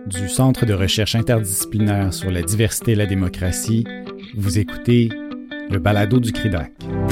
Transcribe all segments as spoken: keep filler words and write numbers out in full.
du Centre de recherche interdisciplinaire sur la diversité et la démocratie, vous écoutez le balado du CRIDAC.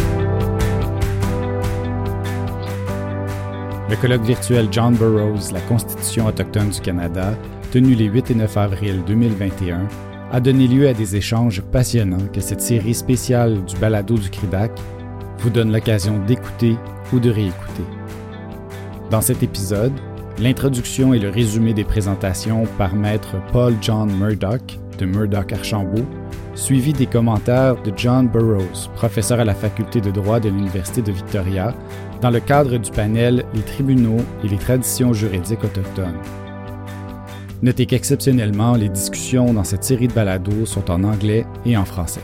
Le colloque virtuel John Burroughs, la Constitution autochtone du Canada, tenu les huit et neuf avril deux mille vingt et un, a donné lieu à des échanges passionnants que cette série spéciale du balado du CRIDAC vous donne l'occasion d'écouter ou de réécouter. Dans cet épisode, l'introduction et le résumé des présentations par maître Paul John Murdoch de Murdoch-Archambault, suivi des commentaires de John Burroughs, professeur à la faculté de droit de l'Université de Victoria, dans le cadre du panel « Les tribunaux et les traditions juridiques autochtones ». Notez qu'exceptionnellement, les discussions dans cette série de balados sont en anglais et en français.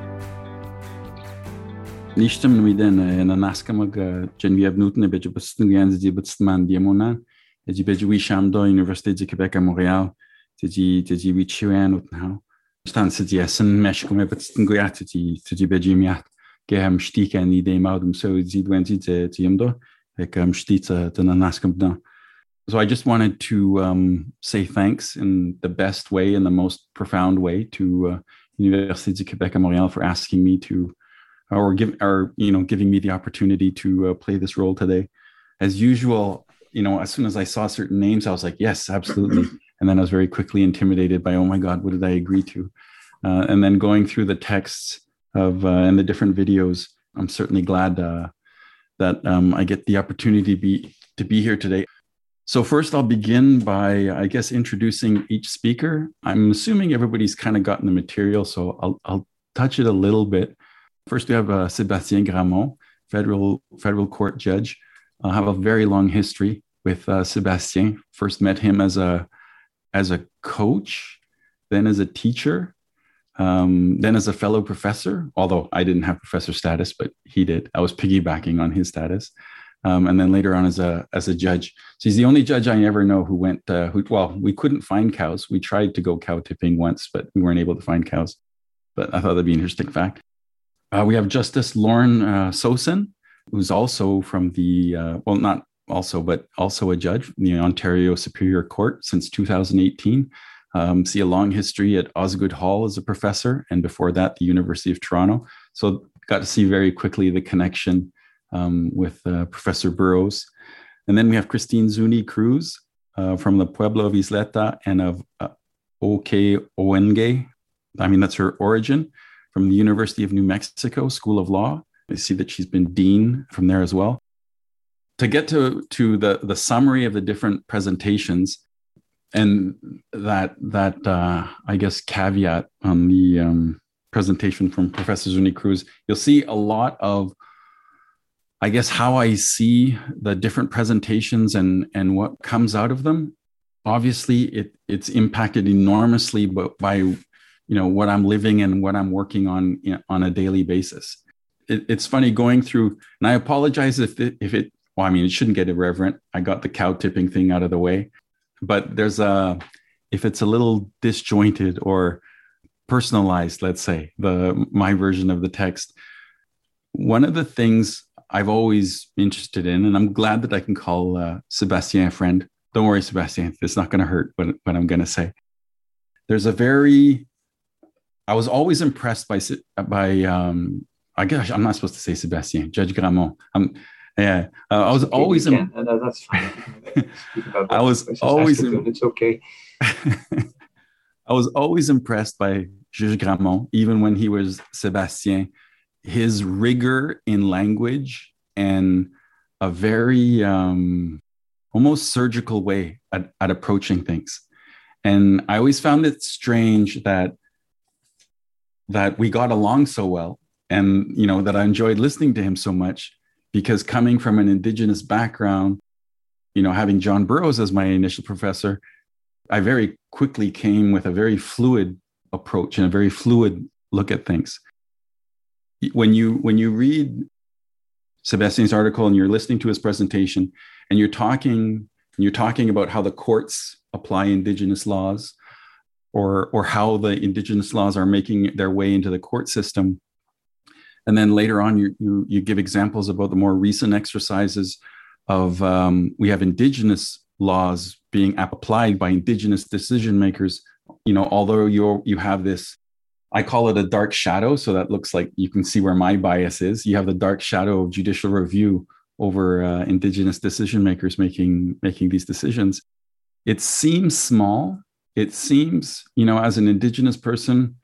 Nishtam nuiden en anaskam Geneviève Newton et Bedje Boston di Botsman Diamona et di Bedje Wishamdo Université du Québec à Montréal te di te di Wichiwan utnao stan se di essen mesh comme Boston Guiat te di te di Bedje Miat geham stika ni de maudum so di twenty te diamdo ek am stita den anaskam dan. So I just wanted to um, say thanks in the best way, in the most profound way, to uh, Université du Québec à Montréal for asking me to, or give, or you know, giving me the opportunity to uh, play this role today. As usual, you know, as soon as I saw certain names, I was like, yes, absolutely. And then I was very quickly intimidated by, oh my God, what did I agree to? Uh, and then going through the texts of uh, and the different videos, I'm certainly glad uh, that um, I get the opportunity to be to be here today. So first I'll begin by, I guess, introducing each speaker. I'm assuming everybody's kind of gotten the material, so I'll, I'll touch it a little bit. First, we have uh, Sébastien Gramont, federal federal court judge. I have a very long history with uh, Sébastien. First met him as a as a coach, then as a teacher, um, then as a fellow professor, although I didn't have professor status, but he did. I was piggybacking on his status. Um, and then later on as a as a judge. So he's the only judge I ever know who went, uh, who, well, we couldn't find cows. We tried to go cow tipping once, but we weren't able to find cows. But I thought that'd be an interesting fact. Uh, we have Justice Lauren uh, Sosen, who's also from the, uh, well, not also, but also a judge in the Ontario Superior Court since two thousand eighteen. Um, see a long history at Osgoode Hall as a professor, and before that, the University of Toronto. So got to see very quickly the connection Um, with uh, Professor Burroughs. And then we have Christine Zuni Cruz uh, from the Pueblo of Isleta and of uh, Oke-Owenge. I mean, that's her origin, from the University of New Mexico School of Law. I see that she's been dean from there as well. To get to, to the, the summary of the different presentations and that, that uh, I guess, caveat on the um, presentation from Professor Zuni Cruz, you'll see a lot of I guess how I see the different presentations and, and what comes out of them. Obviously, it it's impacted enormously by, you know, what I'm living and what I'm working on on a daily basis. It, it's funny going through, and I apologize if it, if it, well, I mean, it shouldn't get irreverent. I got the cow tipping thing out of the way, but there's a, if it's a little disjointed or personalized, let's say, the my version of the text, one of the things I've always interested in, and I'm glad that I can call uh, Sébastien a friend. Don't worry, Sébastien, it's not going to hurt what, what I'm going to say. There's a very, I was always impressed by, by um, I guess I'm not supposed to say Sébastien, Judge Gramont. Um, yeah, uh, I was okay, always, Im- no, that's fine. I was always, Im- it's okay. I was always impressed by Judge Gramont, even when he was Sébastien. His rigor in language and a very um, almost surgical way at, at approaching things. And I always found it strange that that we got along so well, and you know that I enjoyed listening to him so much, because coming from an Indigenous background, you know, having John Burroughs as my initial professor, I very quickly came with a very fluid approach and a very fluid look at things. When you when you read Sébastien's article and you're listening to his presentation and you're talking and you're talking about how the courts apply Indigenous laws, or or how the Indigenous laws are making their way into the court system, and then later on you you, you give examples about the more recent exercises of um, we have Indigenous laws being applied by Indigenous decision makers, you know, although you you have this, I call it a dark shadow. So that looks like you can see where my bias is. You have the dark shadow of judicial review over uh, Indigenous decision makers making making these decisions. It seems small. It seems, you know, as an Indigenous person,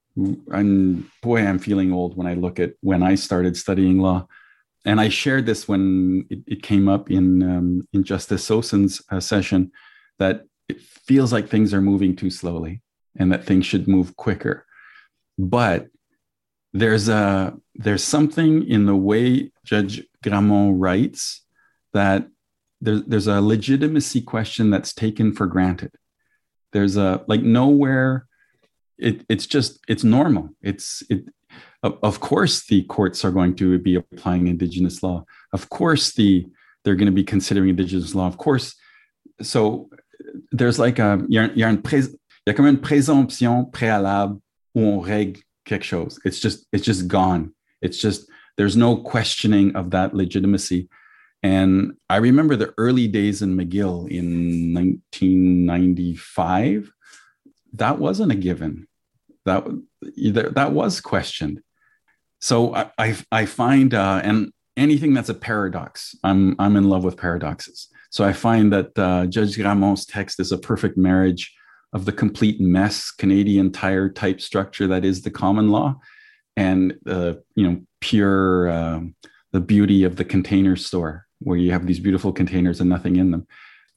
and boy, I'm feeling old when I look at when I started studying law. And I shared this when it, it came up in um, in Justice Sosin's uh, session, that it feels like things are moving too slowly and that things should move quicker. But there's a there's something in the way Judge Gramont writes that there's there's a legitimacy question that's taken for granted. There's a like nowhere. It it's just it's normal. It's it. Of course, the courts are going to be applying Indigenous law. Of course, the they're going to be considering Indigenous law. Of course, so there's like a il y a, il y a, une prés, il y a comme une présomption préalable où on règle quelque chose. It's just it's just gone. It's just there's no questioning of that legitimacy. And I remember the early days in McGill in nineteen ninety-five. That wasn't a given. That that was questioned. So I I, I find uh, and anything that's a paradox, I'm I'm in love with paradoxes. So I find that uh, Judge Gramont's text is a perfect marriage of the complete mess Canadian Tire type structure that is the common law, and uh, you know pure uh, the beauty of the container store where you have these beautiful containers and nothing in them.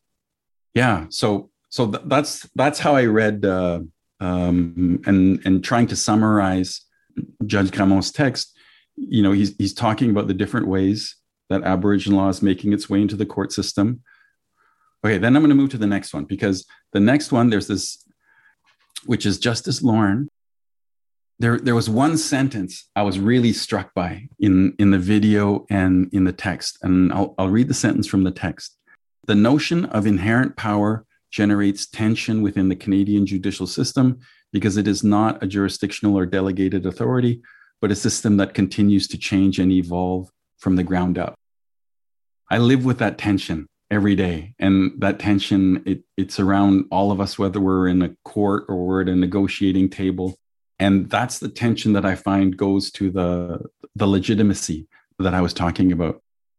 Yeah. So so th- that's that's how I read. Uh, Um, and and trying to summarize Judge Gramont's text, you know, he's he's talking about the different ways that Aboriginal law is making its way into the court system. Okay, then I'm going to move to the next one, because the next one, there's this, which is Justice Lauren. There, there was one sentence I was really struck by in, in the video and in the text, and I'll, I'll read the sentence from the text. The notion of inherent power generates tension within the Canadian judicial system because it is not a jurisdictional or delegated authority, but a system that continues to change and evolve from the ground up. I live with that tension every day. And that tension, it, it's around all of us, whether we're in a court or we're at a negotiating table. And that's the tension that I find goes to the, the legitimacy that I was talking about.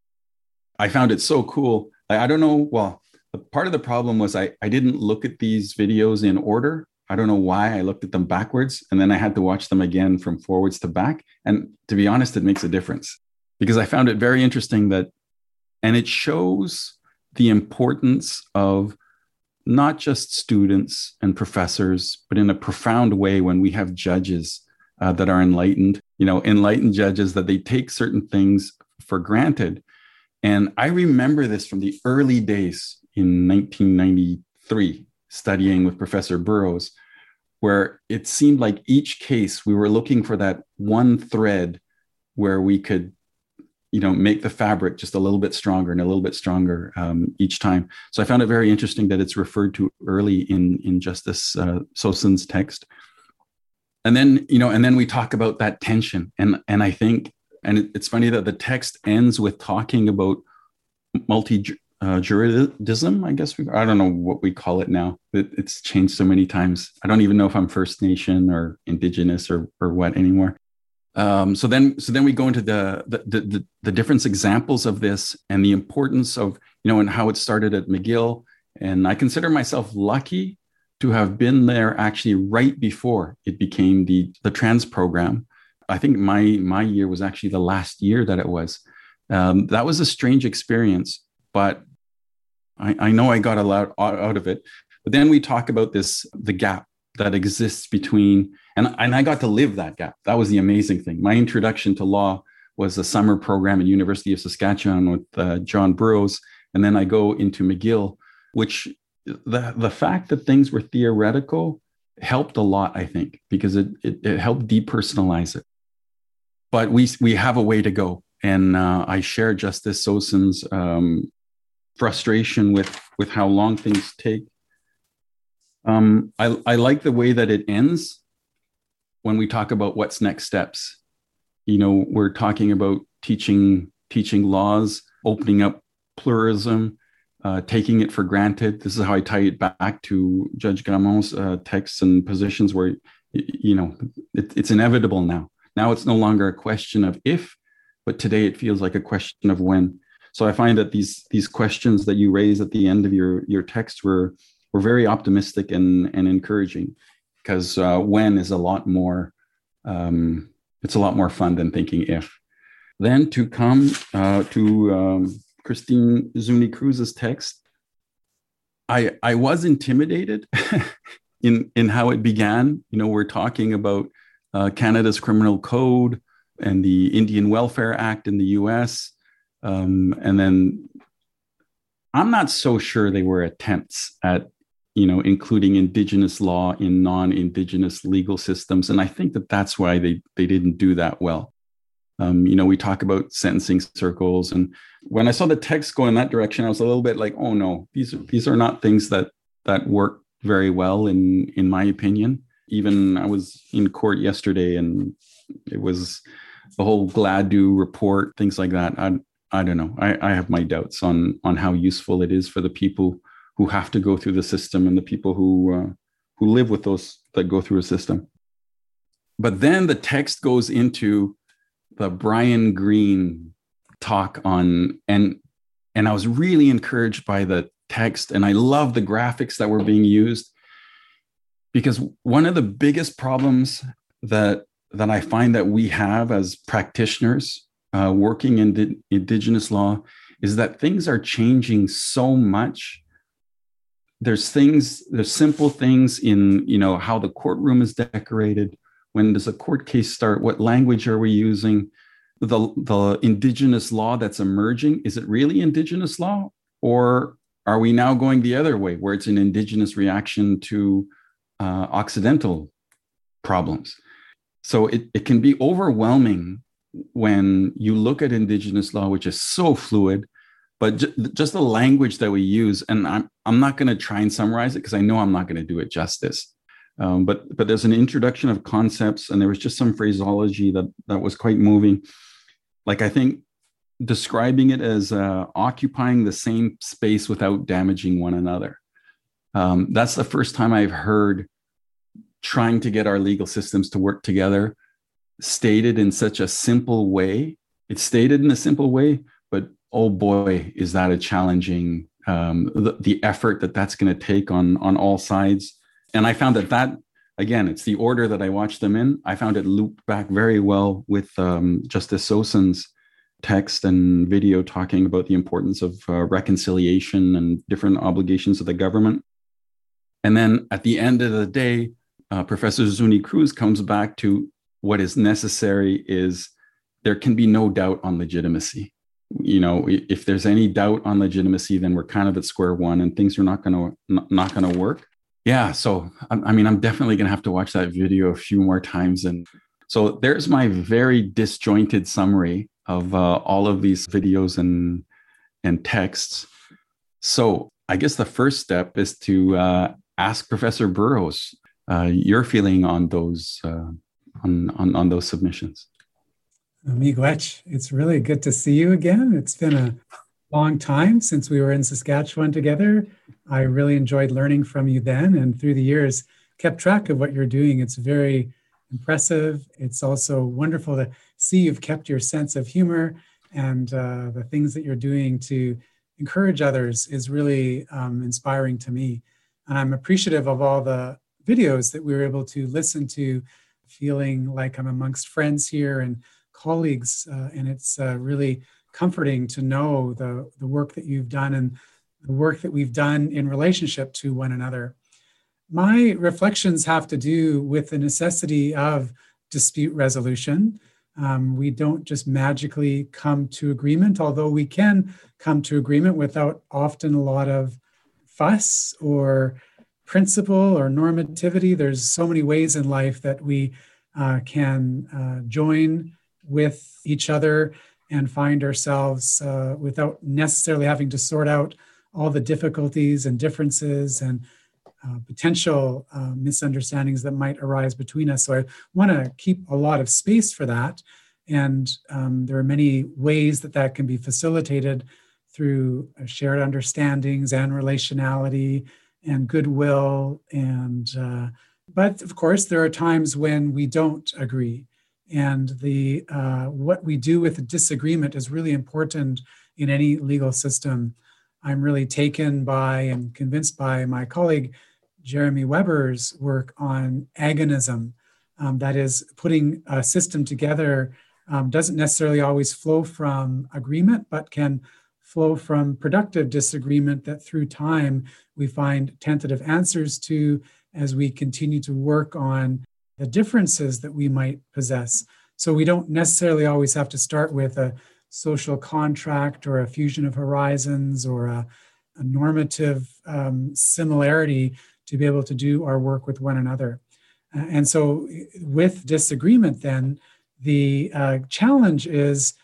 I found it so cool. I, I don't know, well, part of the problem was I, I didn't look at these videos in order. I don't know why I looked at them backwards, and then I had to watch them again from forwards to back. And to be honest, it makes a difference, because I found it very interesting that, and it shows the importance of not just students and professors, but in a profound way when we have judges uh, that are enlightened, you know, enlightened judges, that they take certain things for granted. And I remember this from the early days in nineteen ninety-three, studying with Professor Burrows, where it seemed like each case we were looking for that one thread where we could, you know, make the fabric just a little bit stronger and a little bit stronger um, each time. So I found it very interesting that it's referred to early in, in Justice uh, Sosin's text. And then, you know, and then we talk about that tension. And, and I think, and it, it's funny that the text ends with talking about multi Uh, juridism, I guess. We, I don't know what we call it now. It, it's changed so many times. I don't even know if I'm First Nation or Indigenous or or what anymore. Um, so then, so then we go into the the, the the different examples of this and the importance of, you know, and how it started at McGill. And I consider myself lucky to have been there actually right before it became the the trans program. I think my my year was actually the last year that it was. Um, that was a strange experience. But I, I know I got a lot out of it. But then we talk about this, the gap that exists between, and, and I got to live that gap. That was the amazing thing. My introduction to law was a summer program at University of Saskatchewan with uh, John Burrows. And then I go into McGill, which the, the fact that things were theoretical helped a lot, I think, because it, it, it helped depersonalize it. But we, we have a way to go. And uh, I share Justice Sosin's um, frustration with with how long things take. Um, I, I like the way that it ends when we talk about what's next steps. You know, we're talking about teaching teaching laws, opening up pluralism, uh, taking it for granted. This is how I tie it back to Judge Gramont's uh, texts and positions where, you know, it, it's inevitable now. Now it's no longer a question of if, but today it feels like a question of when. So I find that these these questions that you raise at the end of your your text were were very optimistic and and encouraging, because uh, when is a lot more um, it's a lot more fun than thinking if. Then to come uh, to um, Christine Zuni Cruz's text, I I was intimidated in in how it began. You know, we're talking about uh, Canada's criminal code and the Indian Welfare Act in the U S, um, and then I'm not so sure they were attempts at, you know, including Indigenous law in non-Indigenous legal systems, and I think that that's why they they didn't do that well. Um, you know, we talk about sentencing circles, and when I saw the text go in that direction, I was a little bit like, oh no, these are, these are not things that that work very well in in my opinion. Even I was in court yesterday, and it was the whole Gladue report, things like that. I I don't know. I, I have my doubts on on how useful it is for the people who have to go through the system and the people who uh, who live with those that go through a system. But then the text goes into the Brian Greene talk on, and and I was really encouraged by the text, and I love the graphics that were being used, because one of the biggest problems that that I find that we have as practitioners uh, working in di- Indigenous law is that things are changing so much. There's things, there's simple things in, you know, how the courtroom is decorated. When does a court case start? What language are we using? The, the Indigenous law that's emerging, is it really Indigenous law? Or are we now going the other way, where it's an Indigenous reaction to uh, Occidental problems? So it, it can be overwhelming when you look at Indigenous law, which is so fluid, but j- just the language that we use. And I'm, I'm not going to try and summarize it because I know I'm not going to do it justice. Um, but but there's an introduction of concepts, and there was just some phraseology that, that was quite moving. Like, I think describing it as uh, occupying the same space without damaging one another. Um, that's the first time I've heard trying to get our legal systems to work together stated in such a simple way. It's stated in a simple way, but oh boy, is that a challenging, um, the, the effort that that's going to take on, on all sides. And I found that that, again, it's the order that I watched them in. I found it looped back very well with um, Justice Sosin's text and video talking about the importance of uh, reconciliation and different obligations of the government. And then at the end of the day, uh, Professor Zuni Cruz comes back to what is necessary is there can be no doubt on legitimacy. You know, if there's any doubt on legitimacy, then we're kind of at square one and things are not going to not going to work. Yeah, so I mean, I'm definitely going to have to watch that video a few more times. And so there's my very disjointed summary of uh, all of these videos and and texts. So I guess the first step is to uh, ask Professor Burrows uh, your feeling on those uh, on, on on those submissions. Miigwech, it's really good to see you again. It's been a long time since we were in Saskatchewan together. I really enjoyed learning from you then, and through the years kept track of what you're doing. It's very impressive. It's also wonderful to see you've kept your sense of humor, and uh, the things that you're doing to encourage others is really um, inspiring to me. And I'm appreciative of all the videos that we were able to listen to, feeling like I'm amongst friends here and colleagues. Uh, and it's uh, really comforting to know the, the work that you've done and the work that we've done in relationship to one another. My reflections have to do with the necessity of dispute resolution. Um, we don't just magically come to agreement, although we can come to agreement without often a lot of fuss or principle or normativity. There's so many ways in life that we uh, can uh, join with each other and find ourselves uh, without necessarily having to sort out all the difficulties and differences and uh, potential uh, misunderstandings that might arise between us. So I want to keep a lot of space for that. And um, there are many ways that that can be facilitated through shared understandings and relationality and goodwill. And uh, but of course, there are times when we don't agree. And the uh, what we do with a disagreement is really important in any legal system. I'm really taken by and convinced by my colleague Jeremy Weber's work on agonism. Um, that is, putting a system together um, doesn't necessarily always flow from agreement, but can flow from productive disagreement that through time we find tentative answers to as we continue to work on the differences that we might possess. So we don't necessarily always have to start with a social contract or a fusion of horizons or a, a normative um, similarity to be able to do our work with one another. Uh, and so with disagreement then, the uh, challenge is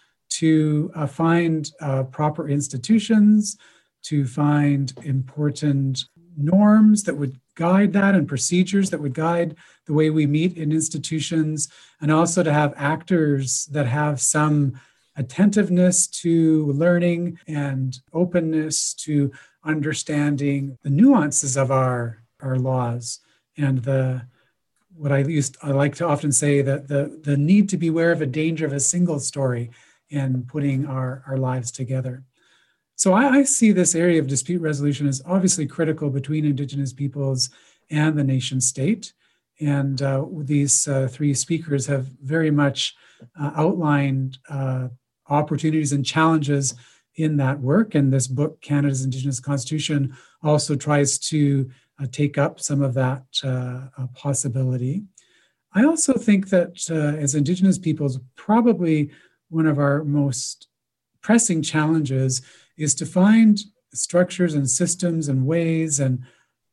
to uh, find uh, proper institutions, to find important norms that would guide that and procedures that would guide the way we meet in institutions, and also to have actors that have some attentiveness to learning and openness to understanding the nuances of our, our laws and the what I used I like to often say that the, the need to beware of a danger of a single story in putting our, our lives together. So I, I see this area of dispute resolution as obviously critical between Indigenous peoples and the nation state. And uh, these uh, three speakers have very much uh, outlined uh, opportunities and challenges in that work. And this book, Canada's Indigenous Constitution, also tries to uh, take up some of that uh, uh, possibility. I also think that uh, as Indigenous peoples, probably one of our most pressing challenges is to find structures and systems and ways and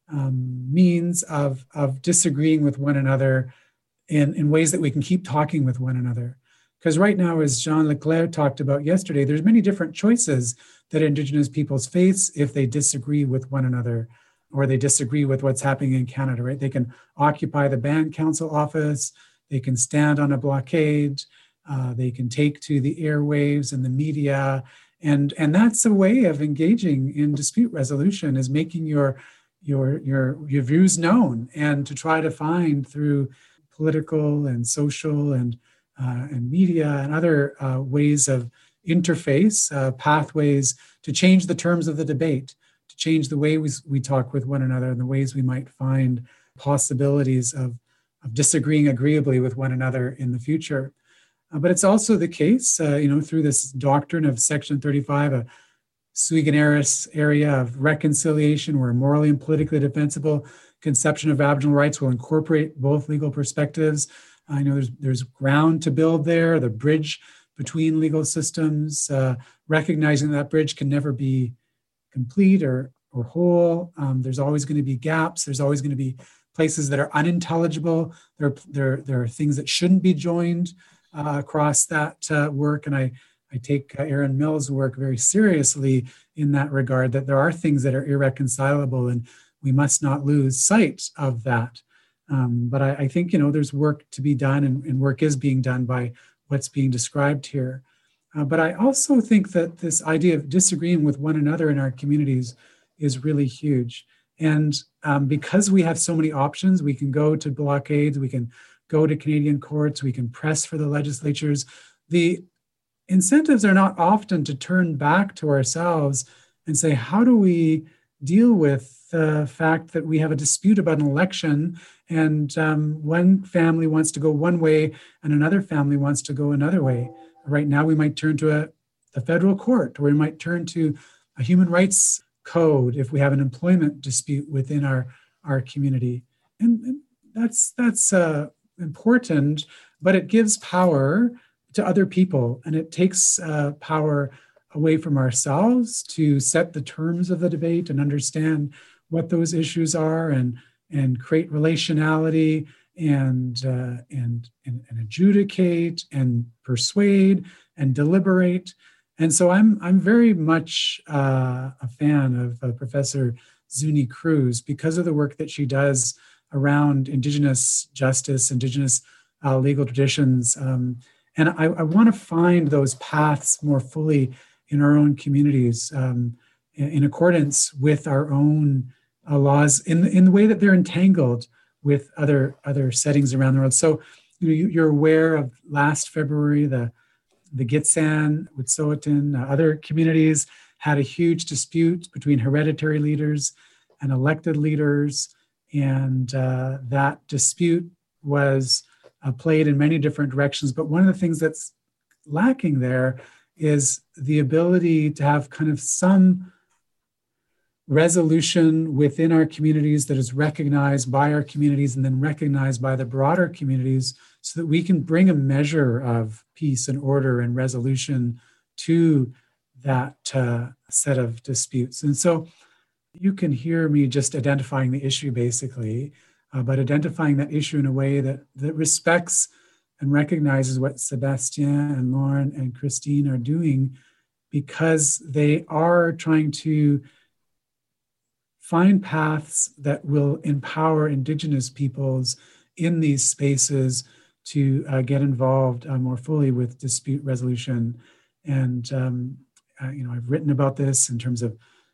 um, means of, of disagreeing with one another in, in ways that we can keep talking with one another. Because right now, as Jean Leclerc talked about yesterday, there's many different choices that Indigenous peoples face if they disagree with one another or they disagree with what's happening in Canada, right? They can occupy the Band Council office, they can stand on a blockade, uh, they can take to the airwaves and the media. And, and that's a way of engaging in dispute resolution, is making your, your, your, your views known and to try to find through political and social and, uh, and media and other uh, ways of interface, uh, pathways to change the terms of the debate, to change the way we, we talk with one another and the ways we might find possibilities of, of disagreeing agreeably with one another in the future. Uh, but it's also the case, uh, you know, through this doctrine of Section thirty-five, a sui generis area of reconciliation where morally and politically defensible conception of Aboriginal rights will incorporate both legal perspectives. I know there's, there's ground to build there, the bridge between legal systems, uh, recognizing that bridge can never be complete or, or whole. Um, there's always going to be gaps. There's always going to be places that are unintelligible. There, there, there are things that shouldn't be joined uh, across that uh, work. And I, I take uh, Aaron Mills' work very seriously in that regard, that there are things that are irreconcilable and we must not lose sight of that. Um, but I, I think, you know, there's work to be done and, and work is being done by what's being described here. Uh, but I also think that this idea of disagreeing with one another in our communities is really huge. And um, because we have so many options, we can go to blockades, we can go to Canadian courts, we can press for the legislatures. The incentives are not often to turn back to ourselves and say, how do we deal with the fact that we have a dispute about an election and um, one family wants to go one way and another family wants to go another way? Right now, we might turn to a, the federal court, or we might turn to a human rights code if we have an employment dispute within our, our community. And, and that's, that's uh, important, but it gives power to other people, and it takes uh, power away from ourselves to set the terms of the debate and understand what those issues are and, and create relationality and, uh, and, and, and adjudicate and persuade and deliberate. And so I'm, I'm very much uh, a fan of uh, Professor Zuni Cruz because of the work that she does around Indigenous justice, Indigenous uh, legal traditions. Um, and I, I want to find those paths more fully in our own communities um, in, in accordance with our own uh, laws in, in the way that they're entangled with other, other settings around the world. So you know, you, you're aware of last February, the, the Gitxsan, Wet'suwet'en, uh, other communities had a huge dispute between hereditary leaders and elected leaders. And uh, that dispute was uh, played in many different directions. But one of the things that's lacking there is the ability to have kind of some resolution within our communities that is recognized by our communities and then recognized by the broader communities so that we can bring a measure of peace and order and resolution to that uh, set of disputes. And so you can hear me just identifying the issue basically, uh, but identifying that issue in a way that, that respects and recognizes what Sebastien and Lauren and Christine are doing, because they are trying to find paths that will empower Indigenous peoples in these spaces to uh, get involved uh, more fully with dispute resolution. And, um, uh, you know, I've written about this in terms of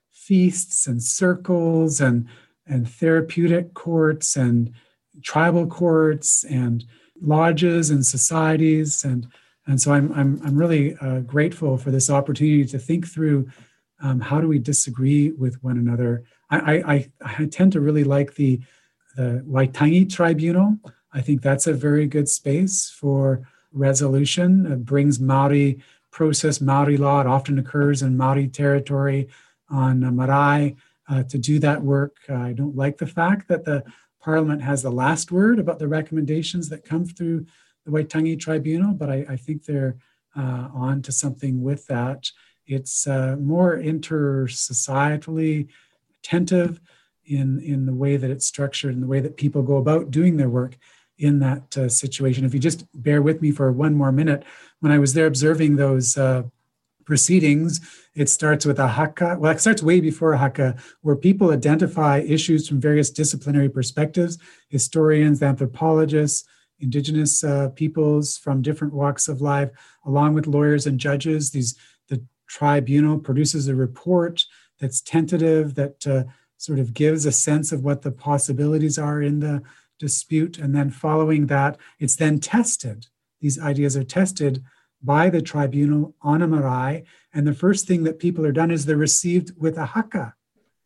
feasts and circles and, and therapeutic courts and tribal courts and lodges and societies. And, and so I'm, I'm, I'm really uh, grateful for this opportunity to think through um, how do we disagree with one another. I, I, I tend to really like the, the Waitangi Tribunal. I think that's a very good space for resolution. It brings Maori process, Maori law. It often occurs in Maori territory on uh, marae uh, to do that work. Uh, I don't like the fact that the Parliament has the last word about the recommendations that come through the Waitangi Tribunal, but I, I think they're uh, on to something with that. It's uh, more inter-societally attentive in, in the way that it's structured and the way that people go about doing their work in that uh, situation. If you just bear with me for one more minute, when I was there observing those uh, proceedings, it starts with a haka. Well, it starts way before a haka, where people identify issues from various disciplinary perspectives, historians, anthropologists, Indigenous uh, peoples from different walks of life, along with lawyers and judges. These the tribunal produces a report that's tentative, that uh, sort of gives a sense of what the possibilities are in the dispute. And then following that, it's then tested. These ideas are tested by the tribunal on a marae. And the first thing that people are done is they're received with a haka,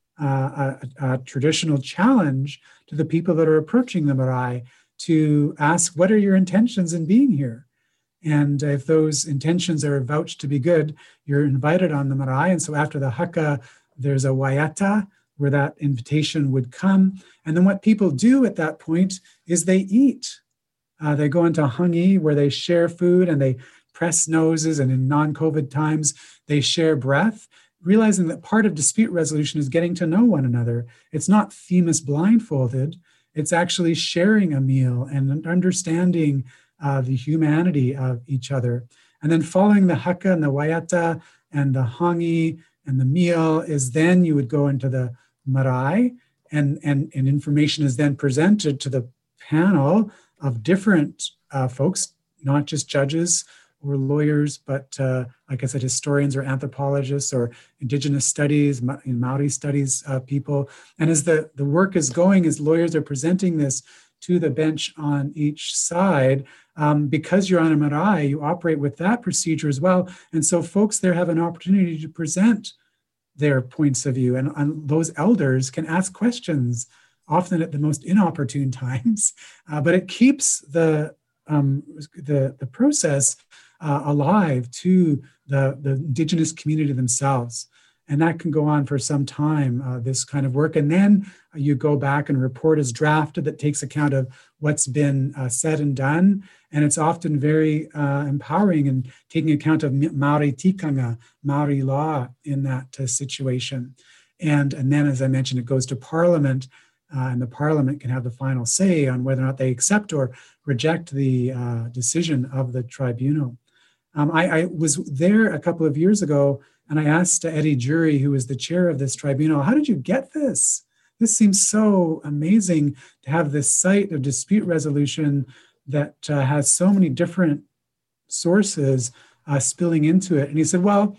uh, a, a traditional challenge to the people that are approaching the marae to ask, what are your intentions in being here? And if those intentions are vouched to be good, you're invited on the marae. And so after the haka, there's a waiata, where that invitation would come. And then what people do at that point is they eat. Uh, they go into hangi, where they share food and they press noses, and in non-COVID times, they share breath, realizing that part of dispute resolution is getting to know one another. It's not Themis blindfolded, it's actually sharing a meal and understanding uh, the humanity of each other. And then following the haka and the waiata and the hangi and the meal is then you would go into the marae, and, and, and information is then presented to the panel of different uh, folks, not just judges or lawyers, but uh, like I said, historians or anthropologists or Indigenous studies, Ma- Maori studies uh, people. And as the, the work is going, as lawyers are presenting this to the bench on each side, um, because you're on a marae, you operate with that procedure as well. And so folks there have an opportunity to present their points of view, and, and those elders can ask questions, often at the most inopportune times, uh, but it keeps the, um, the, the process uh, alive to the, the Indigenous community themselves. And that can go on for some time, uh, this kind of work. And then you go back and a report is drafted that takes account of what's been uh, said and done. And it's often very uh, empowering and taking account of Maori tikanga, Maori law in that uh, situation. And, and then, as I mentioned, it goes to Parliament, uh, and the Parliament can have the final say on whether or not they accept or reject the uh, decision of the tribunal. Um, I, I was there a couple of years ago, and I asked Eddie Jury, who was the chair of this tribunal, how did you get this? This seems so amazing to have this site of dispute resolution that uh, has so many different sources uh, spilling into it. And he said, well,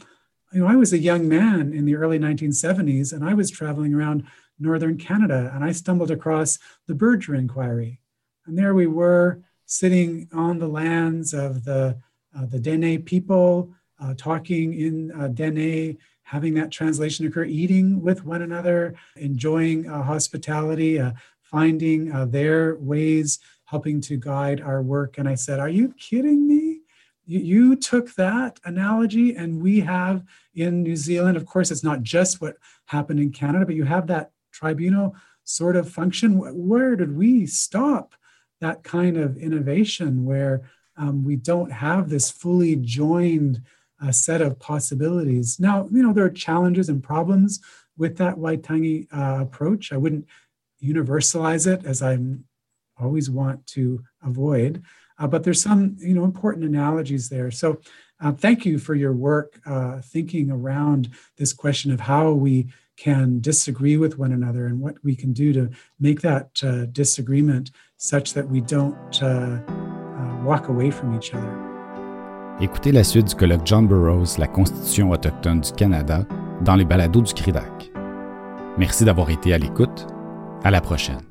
you know, I was a young man in the early nineteen seventies, and I was traveling around northern Canada, and I stumbled across the Berger Inquiry. And there we were sitting on the lands of the, uh, the Dene people, uh, talking in uh, Dene, having that translation occur, eating with one another, enjoying uh, hospitality, uh, finding uh, their ways, helping to guide our work. And I said, are you kidding me? You, you took that analogy, and we have in New Zealand, of course, it's not just what happened in Canada, but you have that tribunal sort of function. Where did we stop that kind of innovation where um, we don't have this fully joined uh, set of possibilities? Now, you know, there are challenges and problems with that Waitangi uh, approach. I wouldn't universalize it, as I always want to avoid, uh, but there's some, you know, important analogies there. So uh, thank you for your work uh, thinking around this question of how we can disagree with one another and what we can do to make that uh, disagreement such that we don't uh, uh, walk away from each other. Écoutez la suite du colloque John Burroughs, la Constitution autochtone du Canada, dans les balados du CRIDAC. Merci d'avoir été à l'écoute. À la prochaine.